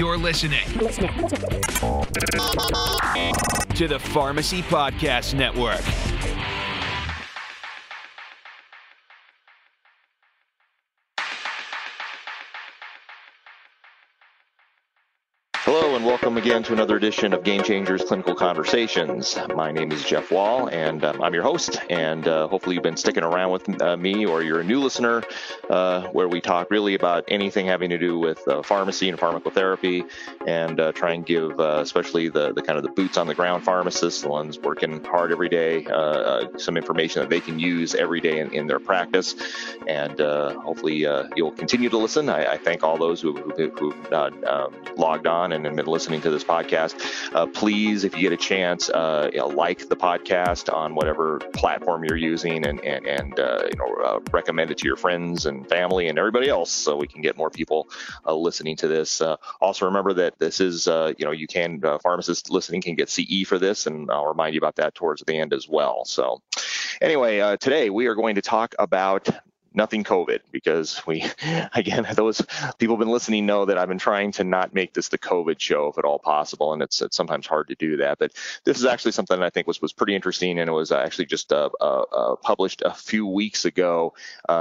You're listening to the Pharmacy Podcast Network. Hello and welcome again to another edition of Game Changers Clinical Conversations. My name is Jeff Wall and I'm your host, and hopefully you've been sticking around with me, or you're a new listener, where we talk really about anything having to do with pharmacy and pharmacotherapy, and try and give especially the kind of the boots on the ground pharmacists, the ones working hard every day, some information that they can use every day in their practice. And hopefully you'll continue to listen. I thank all those who logged on and been listening to this podcast. Please, if you get a chance, like the podcast on whatever platform you're using, and recommend it to your friends and family and everybody else, so we can get more people listening to this. Also, remember that this is, you can, pharmacists listening can get CE for this, and I'll remind you about that towards the end as well. So anyway, today we are going to talk about nothing COVID, because those people who've been listening know that I've been trying to not make this the COVID show if at all possible, and it's sometimes hard to do that. But this is actually something that I think was pretty interesting, and it was actually just published a few weeks ago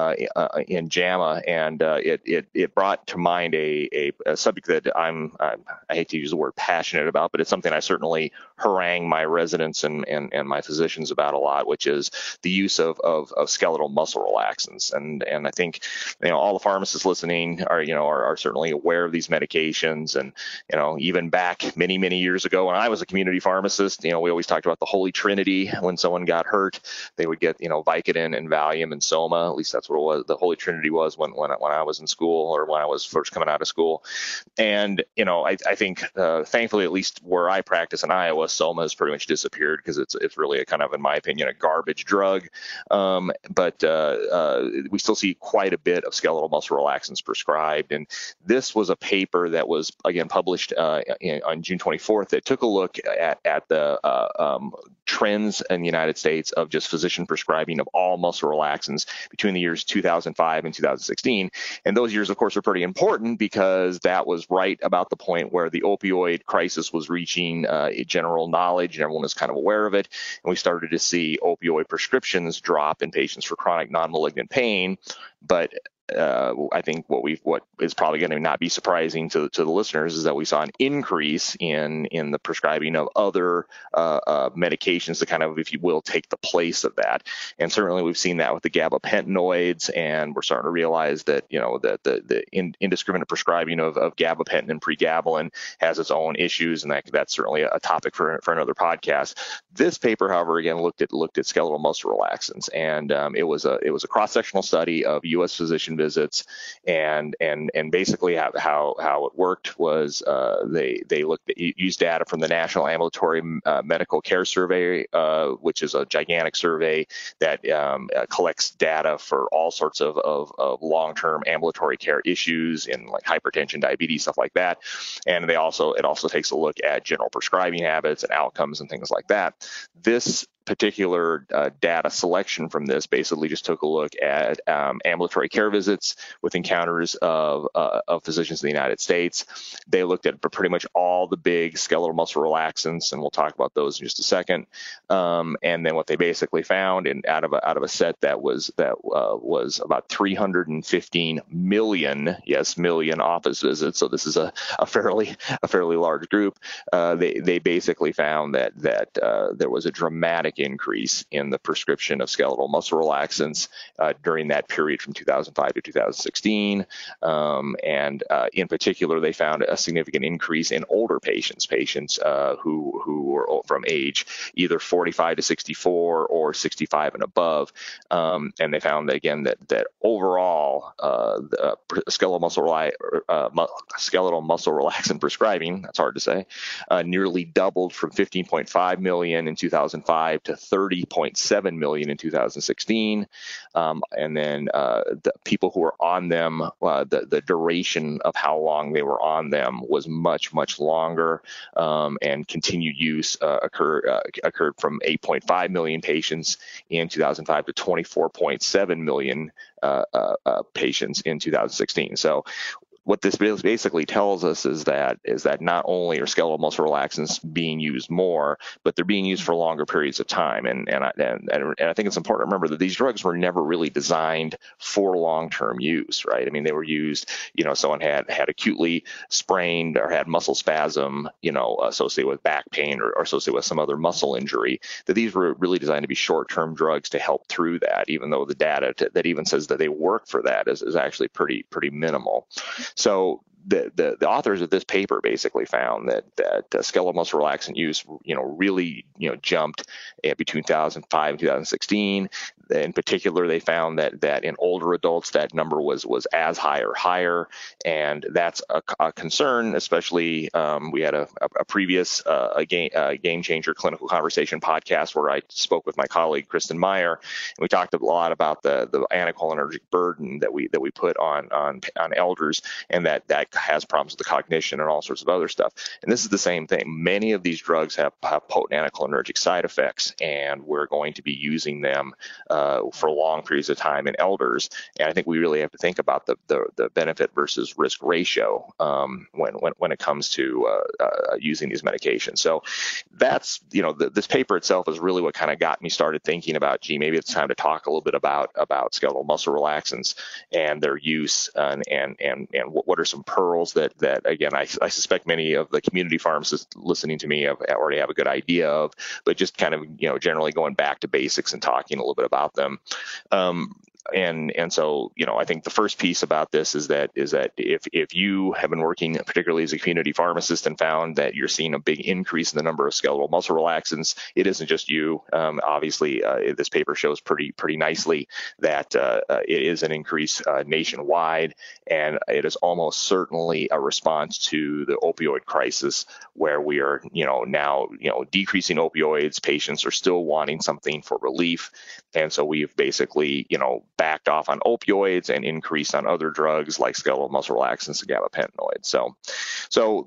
in JAMA, and it brought to mind a subject that I hate to use the word passionate about, but it's something I certainly harangue my residents and my physicians about a lot, which is the use of skeletal muscle relaxants. And I think, all the pharmacists listening are certainly aware of these medications. And, even back many, many years ago when I was a community pharmacist, we always talked about the Holy Trinity. When someone got hurt, they would get, Vicodin and Valium and Soma. At least that's what it was. The Holy Trinity was when I was in school, or when I was first coming out of school. And, I think, thankfully, at least where I practice in Iowa, Soma has pretty much disappeared, because it's really a kind of, in my opinion, a garbage drug. But we still see quite a bit of skeletal muscle relaxants prescribed. And this was a paper that was, again, published on June 24th that took a look at the trends in the United States of just physician prescribing of all muscle relaxants between the years 2005 and 2016. And those years, of course, are pretty important, because that was right about the point where the opioid crisis was reaching general knowledge, and everyone was kind of aware of it. And we started to see opioid prescriptions drop in patients for chronic non-malignant pain. But I think what is probably going to not be surprising to the listeners is that we saw an increase in the prescribing of other medications to kind of, if you will, take the place of that. And certainly we've seen that with the gabapentinoids, and we're starting to realize that that the indiscriminate prescribing of gabapentin and pregabalin has its own issues, and that's certainly a topic for another podcast. This paper, however, again looked at skeletal muscle relaxants, and it was a cross-sectional study of U.S. physician visits, and basically how it worked was they used data from the National Ambulatory Medical Care Survey, which is a gigantic survey that collects data for all sorts of long-term ambulatory care issues in like hypertension, diabetes, stuff like that. And it also takes a look at general prescribing habits and outcomes and things like that. This particular data selection from this basically just took a look at ambulatory care visits with encounters of physicians in the United States. They looked at pretty much all the big skeletal muscle relaxants, and we'll talk about those in just a second. And then what they basically found, out of a set that was about 315 million office visits. So this is a fairly large group. They basically found that there was a dramatic increase in the prescription of skeletal muscle relaxants during that period from 2005 to 2016. And in particular, they found a significant increase in older patients who were from age either 45 to 64 or 65 and above. And they found that, again, that overall, the skeletal muscle relaxant prescribing, that's hard to say, nearly doubled from 15.5 million in 2005 to 30.7 million in 2016. And then the people who were on them, the duration of how long they were on them was much, much longer, and continued use occurred from 8.5 million patients in 2005 to 24.7 million patients in 2016. So what this basically tells us is that not only are skeletal muscle relaxants being used more, but they're being used for longer periods of time. And I think it's important to remember that these drugs were never really designed for long-term use, right? I mean, they were used, someone had acutely sprained or had muscle spasm, associated with back pain or associated with some other muscle injury, that these were really designed to be short-term drugs to help through that, even though the data that even says that they work for that is actually pretty minimal. So the authors of this paper basically found that skeletal muscle relaxant use, really, jumped between 2005 and 2016. In particular, they found that in older adults, that number was as high or higher, and that's a concern. Especially, we had a previous Game Changer Clinical Conversation podcast where I spoke with my colleague Kristen Meyer, and we talked a lot about the anticholinergic burden that we put on elders, and that has problems with the cognition and all sorts of other stuff. And this is the same thing. Many of these drugs have potent anticholinergic side effects, and we're going to be using them for long periods of time in elders. And I think we really have to think about the benefit versus risk ratio when it comes to using these medications. So that's, this paper itself is really what kind of got me started thinking about, maybe it's time to talk a little bit about skeletal muscle relaxants and their use, and what are some pearls that again, I suspect many of the community pharmacists listening to me already have a good idea of, but just kind of, generally going back to basics and talking a little bit about them. And so, I think the first piece about this is that if you have been working particularly as a community pharmacist and found that you're seeing a big increase in the number of skeletal muscle relaxants, it isn't just you. Obviously, this paper shows pretty nicely that it is an increase nationwide, and it is almost certainly a response to the opioid crisis, where we are, now, decreasing opioids. Patients are still wanting something for relief, and so we've basically, backed off on opioids and increased on other drugs like skeletal muscle relaxants and gabapentinoids. So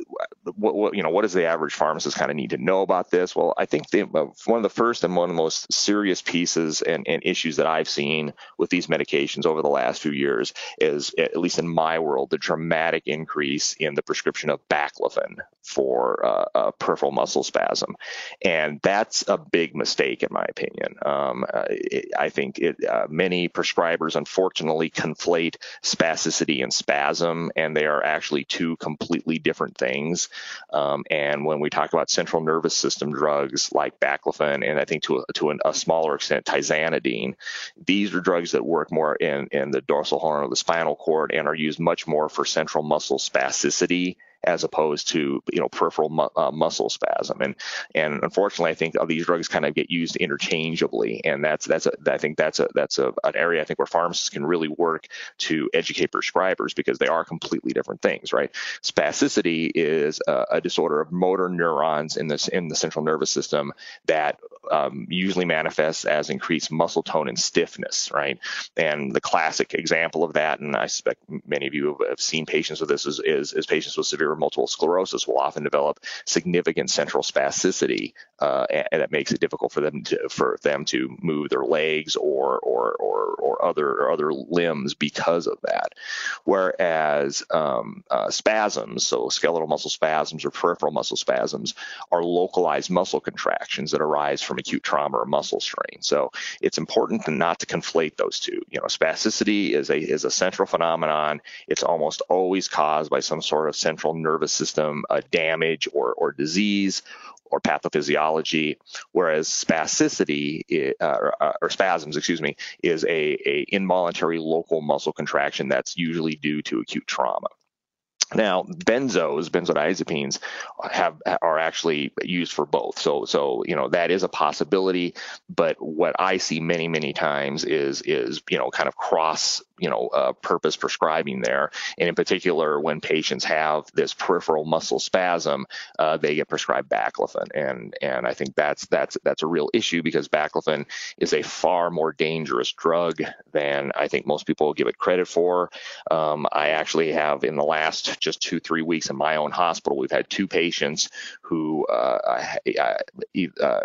what does the average pharmacist kind of need to know about this? Well, I think one of the first and one of the most serious pieces and issues that I've seen with these medications over the last few years is, at least in my world, the dramatic increase in the prescription of baclofen for peripheral muscle spasm. And that's a big mistake, in my opinion. I think many prescribers, unfortunately, conflate spasticity and spasm, and they are actually two completely different things. And when we talk about central nervous system drugs like baclofen, and I think to a smaller extent tizanidine, these are drugs that work more in the dorsal horn of the spinal cord and are used much more for central muscle spasticity as opposed to peripheral muscle spasm, and unfortunately, I think these drugs kind of get used interchangeably, and I think that's an area I think where pharmacists can really work to educate prescribers, because they are completely different things, right? Spasticity is a disorder of motor neurons in the central nervous system that usually manifests as increased muscle tone and stiffness, right? And the classic example of that, and I suspect many of you have seen patients with this, is patients with severe multiple sclerosis will often develop significant central spasticity, and that makes it difficult for them to move their legs or other limbs because of that. Whereas spasms, so skeletal muscle spasms or peripheral muscle spasms, are localized muscle contractions that arise from acute trauma or muscle strain. So it's important not to conflate those two. Spasticity is a central phenomenon. It's almost always caused by some sort of central nervous system damage or disease or pathophysiology, whereas spasticity or spasms, is a involuntary local muscle contraction that's usually due to acute trauma. Now, benzodiazepines are actually used for both. So that is a possibility, but what I see many times is kind of cross purpose prescribing there. And in particular, when patients have this peripheral muscle spasm, they get prescribed baclofen. And I think that's a real issue, because baclofen is a far more dangerous drug than I think most people give it credit for. I actually have, in the last just 2-3 weeks in my own hospital, we've had 2 patients who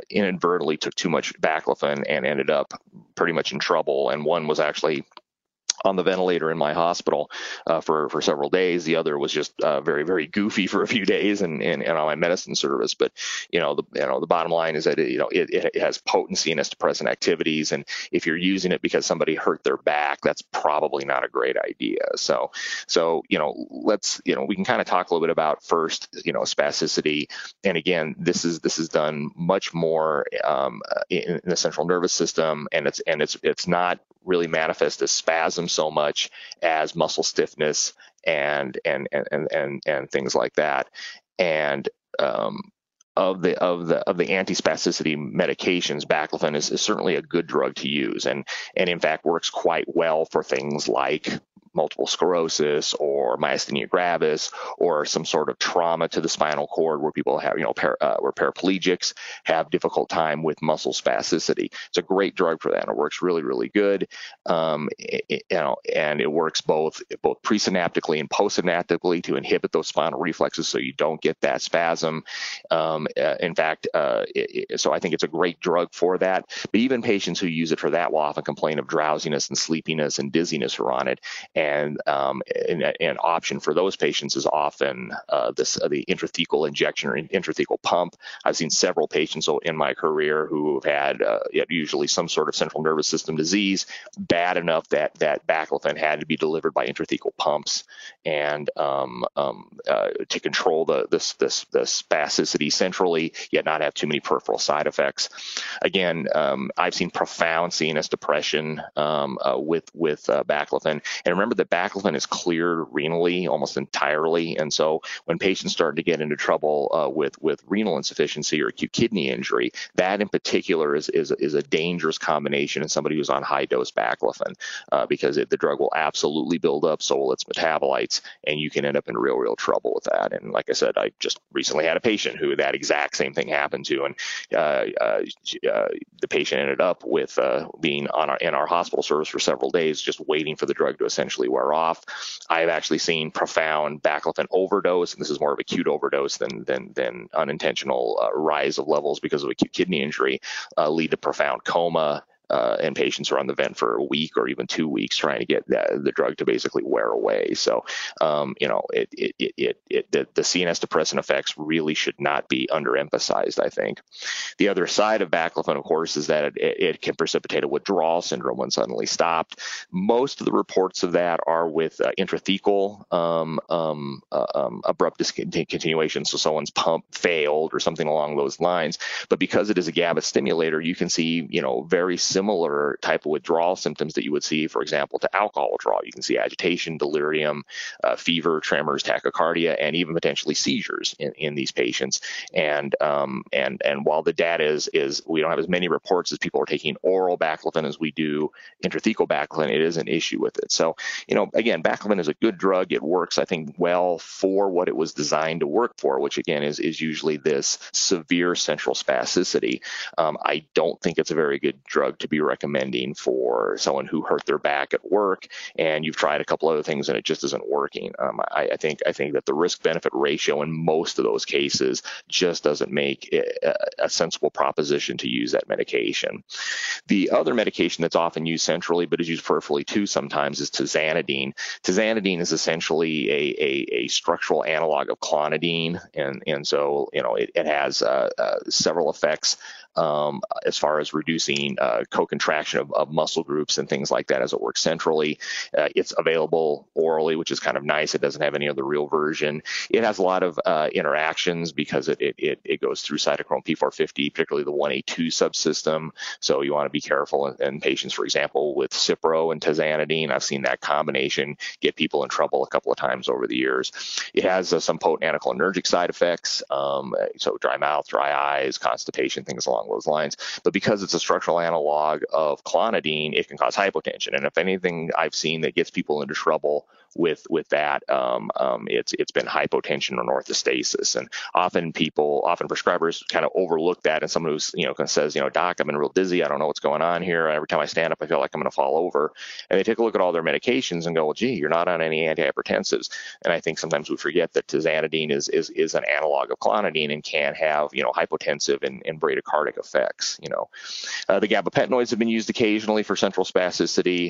inadvertently took too much baclofen and ended up pretty much in trouble. And one was actually on the ventilator in my hospital for several days. The other was just very, very goofy for a few days and on my medicine service. But the bottom line is that it has potent CNS depressant activities, and if you're using it because somebody hurt their back, that's probably not a great idea. So let's we can kind of talk a little bit about first spasticity. And again, this is done much more in the central nervous system, and it's not really manifest as spasm so much as muscle stiffness and things like that. And of the antispasticity medications, baclofen is certainly a good drug to use, and in fact works quite well for things like multiple sclerosis or myasthenia gravis or some sort of trauma to the spinal cord where people have, where paraplegics have difficult time with muscle spasticity. It's a great drug for that. It works really, really good. And it works both presynaptically and postsynaptically to inhibit those spinal reflexes so you don't get that spasm. In fact, so I think it's a great drug for that. But even patients who use it for that will often complain of drowsiness and sleepiness and dizziness are on it. And an option for those patients is often the intrathecal injection or intrathecal pump. I've seen several patients in my career who have had usually some sort of central nervous system disease, bad enough that baclofen had to be delivered by intrathecal pumps, and to control the spasticity centrally, yet not have too many peripheral side effects. Again, I've seen profound CNS depression with baclofen, and remember that baclofen is cleared renally almost entirely, and so when patients start to get into trouble with renal insufficiency or acute kidney injury, that in particular is a dangerous combination in somebody who's on high dose baclofen, because the drug will absolutely build up, so will its metabolites, and you can end up in real trouble with that. And like I said, I just recently had a patient who that exact same thing happened to, and the patient ended up with being in our hospital service for several days, just waiting for the drug to essentially wear off. I've actually seen profound baclofen overdose, and this is more of acute overdose than unintentional rise of levels because of acute kidney injury, lead to profound coma. And patients are on the vent for a week or even 2 weeks trying to get the drug to basically wear away. So, the CNS depressant effects really should not be underemphasized, I think. The other side of baclofen, of course, is that it can precipitate a withdrawal syndrome when suddenly stopped. Most of the reports of that are with intrathecal abrupt discontinuation, so someone's pump failed or something along those lines. But because it is a GABA stimulator, you can see, very similar type of withdrawal symptoms that you would see, for example, to alcohol withdrawal. You can see agitation, delirium, fever, tremors, tachycardia, and even potentially seizures in these patients. And while the data is we don't have as many reports as people are taking oral baclofen as we do intrathecal baclofen, it is an issue with it. So, again, baclofen is a good drug. It works, I think, well for what it was designed to work for, which again is usually this severe central spasticity. I don't think it's a very good drug to be recommending for someone who hurt their back at work and you've tried a couple other things and it just isn't working. I think that the risk-benefit ratio in most of those cases just doesn't make a sensible proposition to use that medication. The other medication that's often used centrally but is used peripherally too sometimes is tizanidine. Tizanidine is essentially a structural analog of clonidine, and so it has several effects as far as reducing co-contraction of muscle groups and things like that as it works centrally. It's available orally, which is kind of nice. It doesn't have any other real version. It has a lot of interactions because it goes through cytochrome P450, particularly the 1A2 subsystem. So you want to be careful in patients, for example, with Cipro and tizanidine. I've seen that combination get people in trouble a couple of times over the years. It has some potent anticholinergic side effects, so dry mouth, dry eyes, constipation, things along those lines. But because it's a structural analog of clonidine, it can cause hypotension. And if anything I've seen that gets people into trouble with that, it's been hypotension or orthostasis. And often prescribers kind of overlook that. And someone who's, kind of says, doc, I've been real dizzy. I don't know what's going on here. Every time I stand up, I feel like I'm going to fall over. And they take a look at all their medications and go, well, gee, you're not on any antihypertensives. And I think sometimes we forget that tizanidine is an analog of clonidine and can have, hypotensive and bradycardic drug-like effects. The gabapentinoids have been used occasionally for central spasticity,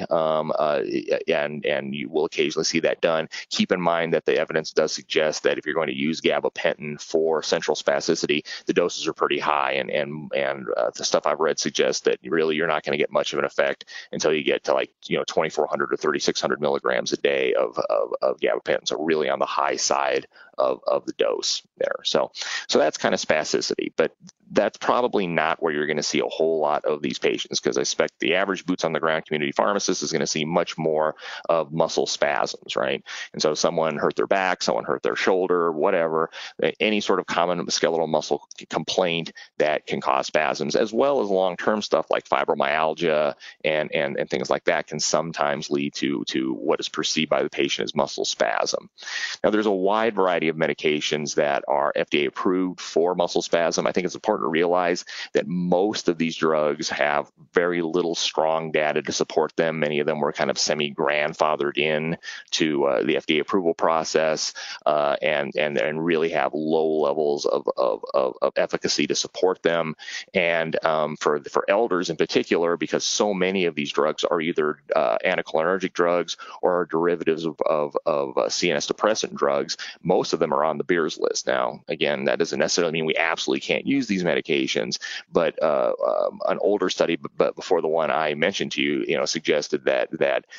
and you will occasionally see that done. Keep in mind that the evidence does suggest that if you're going to use gabapentin for central spasticity, the doses are pretty high, and the stuff I've read suggests that really you're not going to get much of an effect until you get to 2,400 or 3,600 milligrams a day of gabapentin. So really on the high side of the dose there. So that's kind of spasticity, but that's probably not where you're going to see a whole lot of these patients, because I expect the average boots on the ground community pharmacist is going to see much more of muscle spasms, right? And so someone hurt their back, someone hurt their shoulder, whatever, any sort of common skeletal muscle complaint that can cause spasms, as well as long-term stuff like fibromyalgia and things like that can sometimes lead to what is perceived by the patient as muscle spasm. Now, there's a wide variety of medications that are FDA approved for muscle spasm. I think it's important to realize that most of these drugs have very little strong data to support them. Many of them were kind of semi-grandfathered in to the FDA approval process, and really have low levels of efficacy to support them. And for elders in particular, because so many of these drugs are either anticholinergic drugs or are derivatives of CNS depressant drugs, most of them are on the Beers list. Now, again, that doesn't necessarily mean we absolutely can't use these medications, but an older study, but before the one I mentioned to you, suggested that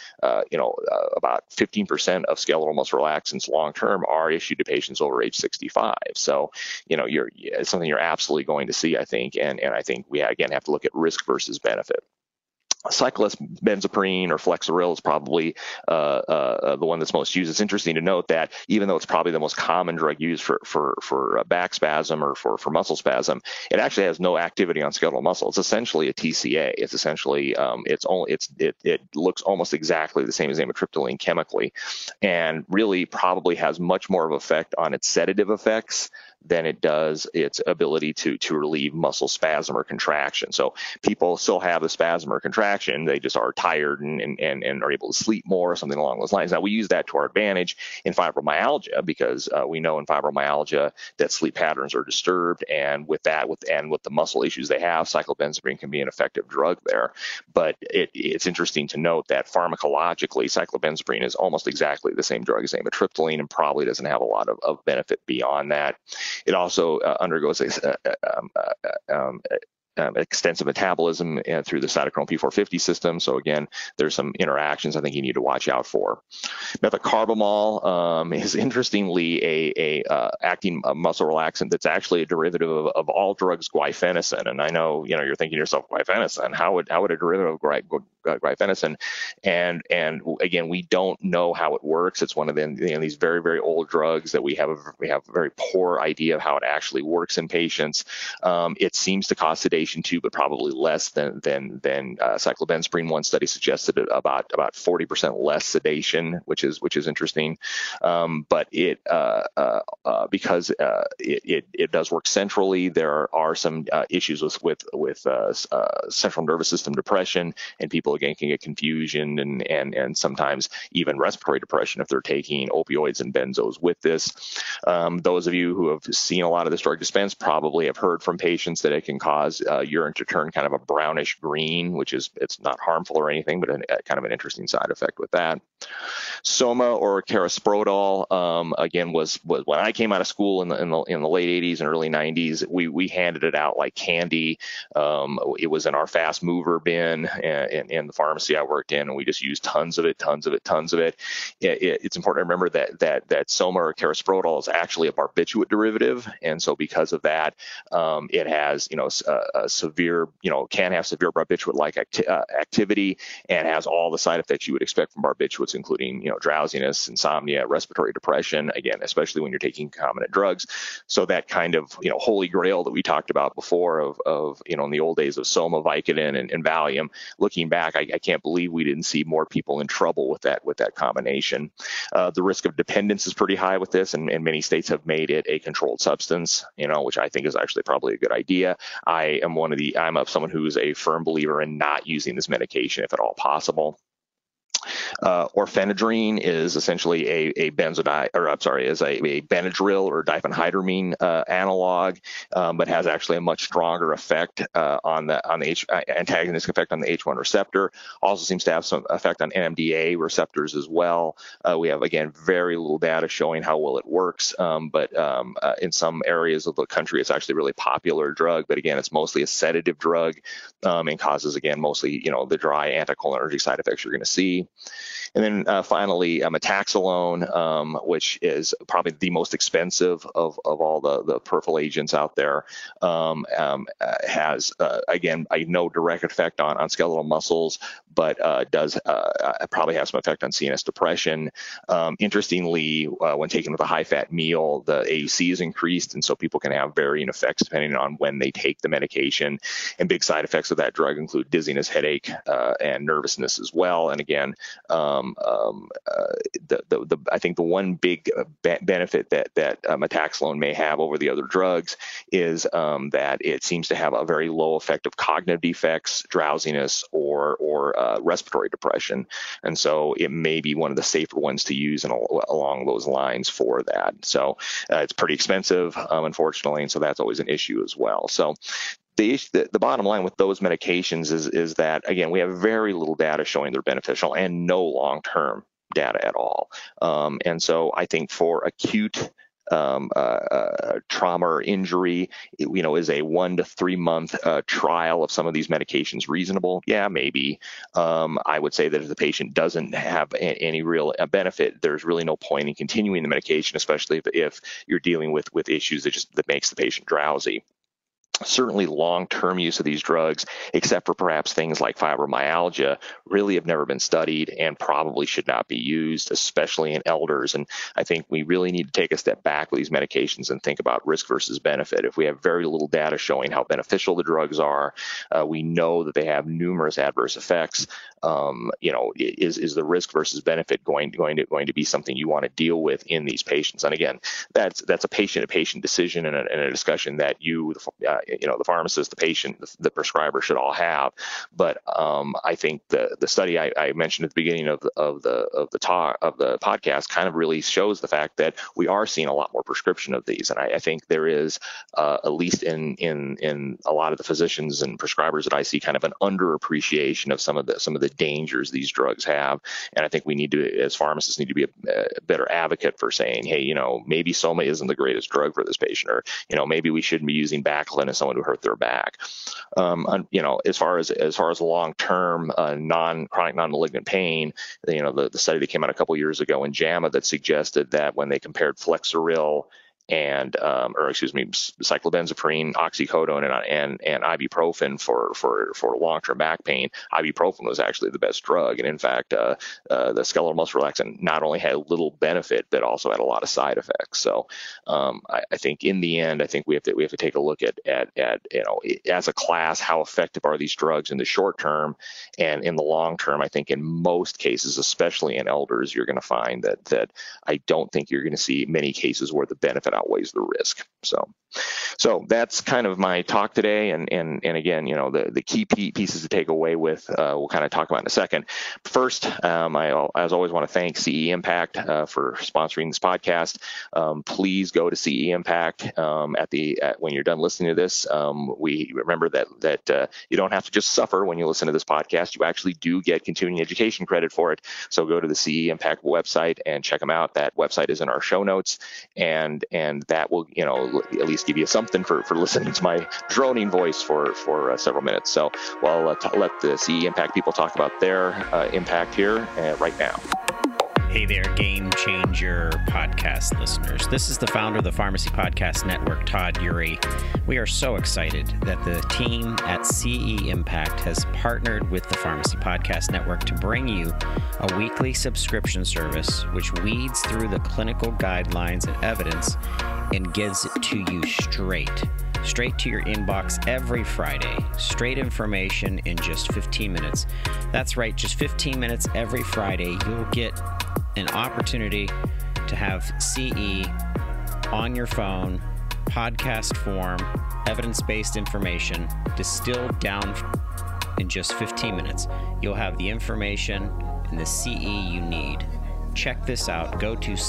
about 15% of skeletal muscle relaxants long term are issued to patients over age 65. So, it's something you're absolutely going to see, I think, and I think we again have to look at risk versus benefit. Cyclobenzaprine or Flexeril is probably the one that's most used. It's interesting to note that even though it's probably the most common drug used for back spasm or for muscle spasm, it actually has no activity on skeletal muscle. It's essentially a TCA. It's essentially it looks almost exactly the same as amitriptyline chemically, and really probably has much more of an effect on its sedative effects than it does its ability to relieve muscle spasm or contraction. So people still have the spasm or contraction, they just are tired and are able to sleep more or something along those lines. Now, we use that to our advantage in fibromyalgia, because we know in fibromyalgia that sleep patterns are disturbed, and with the muscle issues they have, cyclobenzaprine can be an effective drug there. But it's interesting to note that pharmacologically, cyclobenzaprine is almost exactly the same drug as amitriptyline and probably doesn't have a lot of benefit beyond that. It also undergoes extensive metabolism through the cytochrome P450 system. So again, there's some interactions I think you need to watch out for. Methocarbamol is interestingly a acting muscle relaxant that's actually a derivative of all drugs guaifenesin. And I know you're thinking to yourself, guaifenesin, how would a derivative of guaifenesin? And again, we don't know how it works. It's one of these very, very old drugs that we have a very poor idea of how it actually works in patients. It seems to cause sedation too, but probably less than cyclobenzaprine. One study suggested about 40% less sedation, which is interesting. But because it does work centrally, there are some issues with central nervous system depression, and people again can get confusion and sometimes even respiratory depression if they're taking opioids and benzos with this. Those of you who have seen a lot of this drug dispensed probably have heard from patients that it can cause urine to turn kind of a brownish green, it's not harmful or anything, but kind of an interesting side effect with that. Soma or Carisprotol, again, was when I came out of school in the late 80s and early 90s, we handed it out like candy. It was in our fast mover bin in the pharmacy I worked in, and we just used tons of it. It's important to remember that Soma or Carisprotol is actually a barbiturate derivative, and so because of that, it has can have severe barbiturate-like activity, and has all the side effects you would expect from barbiturates, including drowsiness, insomnia, respiratory depression, again, especially when you're taking concomitant drugs. So that kind of holy grail that we talked about before of in the old days of Soma, Vicodin, and Valium, looking back, I can't believe we didn't see more people in trouble with that combination. The risk of dependence is pretty high with this, and many states have made it a controlled substance, which I think is actually probably a good idea. I'm someone who's a firm believer in not using this medication if at all possible. Orphenadrine is essentially a Benadryl or diphenhydramine analog, but has actually a much stronger effect on the antagonistic effect on the H1 receptor. Also seems to have some effect on NMDA receptors as well. We have, again, very little data showing how well it works, but in some areas of the country, it's actually a really popular drug. But again, it's mostly a sedative drug and causes, again, mostly the dry anticholinergic side effects you're going to see. And then finally, metaxalone, which is probably the most expensive of all the peripheral agents out there, has, again, no direct effect on skeletal muscles, but does probably have some effect on CNS depression. Interestingly, when taken with a high-fat meal, the AUC is increased, and so people can have varying effects depending on when they take the medication. And big side effects of that drug include dizziness, headache, and nervousness as well. And again, I think the one big benefit that metaxalone may have over the other drugs is that it seems to have a very low effect of cognitive defects, drowsiness, or respiratory depression. And so it may be one of the safer ones to use along those lines for that. So it's pretty expensive, unfortunately, and so that's always an issue as well. So the bottom line with those medications is that, again, we have very little data showing they're beneficial and no long-term data at all. And so I think for acute trauma or injury, is a 1 to 3 month trial of some of these medications reasonable? Yeah, maybe. I would say that if the patient doesn't have any real benefit, there's really no point in continuing the medication, especially if you're dealing with issues that makes the patient drowsy. Certainly long-term use of these drugs, except for perhaps things like fibromyalgia, really have never been studied and probably should not be used, especially in elders. And I think we really need to take a step back with these medications and think about risk versus benefit. If we have very little data showing how beneficial the drugs are, we know that they have numerous adverse effects. Is the risk versus benefit going to be something you want to deal with in these patients? And again, that's a patient-to-patient decision and a discussion that the pharmacist, the patient, the prescriber should all have. But I think the study I mentioned at the beginning of the podcast kind of really shows the fact that we are seeing a lot more prescription of these. And I think there is, at least in a lot of the physicians and prescribers that I see, kind of an underappreciation of some of the dangers these drugs have. And I think we need to, as pharmacists, need to be a better advocate for saying, hey, maybe Soma isn't the greatest drug for this patient, or maybe we shouldn't be using Baclofen as someone who hurt their back. As far as long-term chronic non-malignant pain, the study that came out a couple years ago in JAMA that suggested that when they compared Flexeril and cyclobenzaprine, oxycodone, and ibuprofen for long-term back pain, ibuprofen was actually the best drug. And in fact, the skeletal muscle relaxant not only had little benefit, but also had a lot of side effects. So I think in the end, I think we have to take a look at as a class, how effective are these drugs in the short term, and in the long term. I think in most cases, especially in elders, you're going to find that I don't think you're going to see many cases where the benefit outweighs the risk. So that's kind of my talk today. And again, the key pieces to take away with, we'll kind of talk about in a second. First, I, as always, want to thank CE Impact for sponsoring this podcast. Please go to CE Impact when you're done listening to this. We remember that you don't have to just suffer when you listen to this podcast. You actually do get continuing education credit for it. So go to the CE Impact website and check them out. That website is in our show notes, and that will at least give you something for listening to my droning voice for several minutes. So we'll let the CE Impact people talk about their impact here right now. Hey there, Game Changer podcast listeners. This is the founder of the Pharmacy Podcast Network, Todd Eury. We are so excited that the team at CE Impact has partnered with the Pharmacy Podcast Network to bring you a weekly subscription service which weeds through the clinical guidelines and evidence and gives it to you straight to your inbox every Friday. Straight information in just 15 minutes. That's right, just 15 minutes every Friday. You'll get an opportunity to have CE on your phone, podcast form, evidence-based information distilled down in just 15 minutes. You'll have the information and the CE you need. Check this out. Go to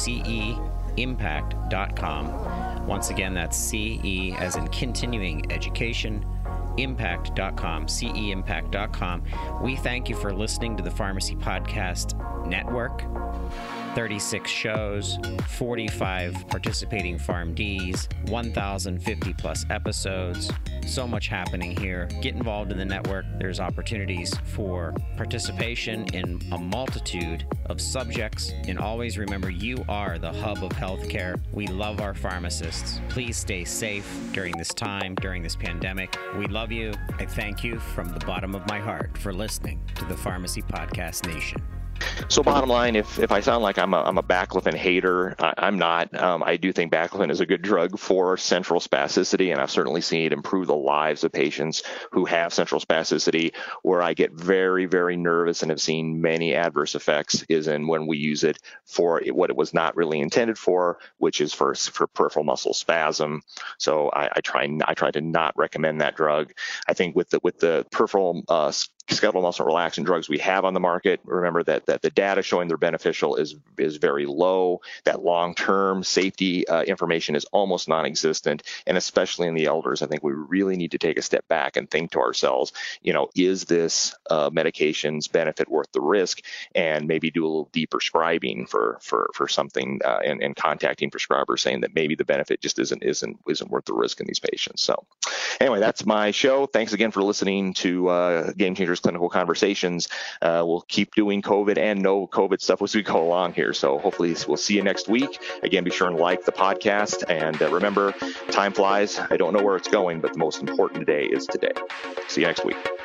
ceimpact.com. Once again, that's CE as in continuing education, impact.com, ceimpact.com. We thank you for listening to the Pharmacy Podcast Network. 36 shows, 45 participating PharmDs, 1,050 plus episodes. So much happening here. Get involved in the network. There's opportunities for participation in a multitude of subjects. And always remember, you are the hub of healthcare. We love our pharmacists. Please stay safe during this time, during this pandemic. We love you. I thank you from the bottom of my heart for listening to the Pharmacy Podcast Nation. So bottom line, if I sound like I'm a baclofen hater, I'm not. I do think baclofen is a good drug for central spasticity, and I've certainly seen it improve the lives of patients who have central spasticity. Where I get very, very nervous and have seen many adverse effects is in when we use it for what it was not really intended for, which is for peripheral muscle spasm. So I try to not recommend that drug. I think with the peripheral skeletal muscle relaxant drugs we have on the market, remember that the data showing they're beneficial is very low. That long-term safety information is almost non-existent, and especially in the elders, I think we really need to take a step back and think to ourselves, is this medication's benefit worth the risk, and maybe do a little deeper prescribing for something and contacting prescribers saying that maybe the benefit just isn't worth the risk in these patients. So anyway, that's my show. Thanks again for listening to Game Changers Clinical Conversations. We'll keep doing COVID and no COVID stuff as we go along here. So hopefully we'll see you next week. Again, be sure and like the podcast. And remember, time flies. I don't know where it's going, but the most important day is today. See you next week.